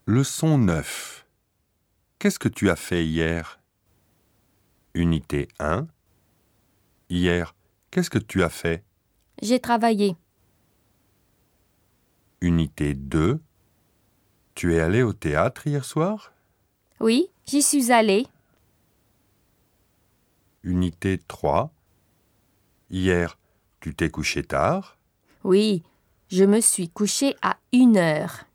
Leçon 9. Qu'est-ce que tu as fait hier? Unité 1. Hier, qu'est-ce que tu as fait? J'ai travaillé. Unité 2. Tu es allé au théâtre hier soir? Oui, j'y suis allée. Unité 3. Hier, tu t'es couché tard? Oui, je me suis couchée à 1 heure.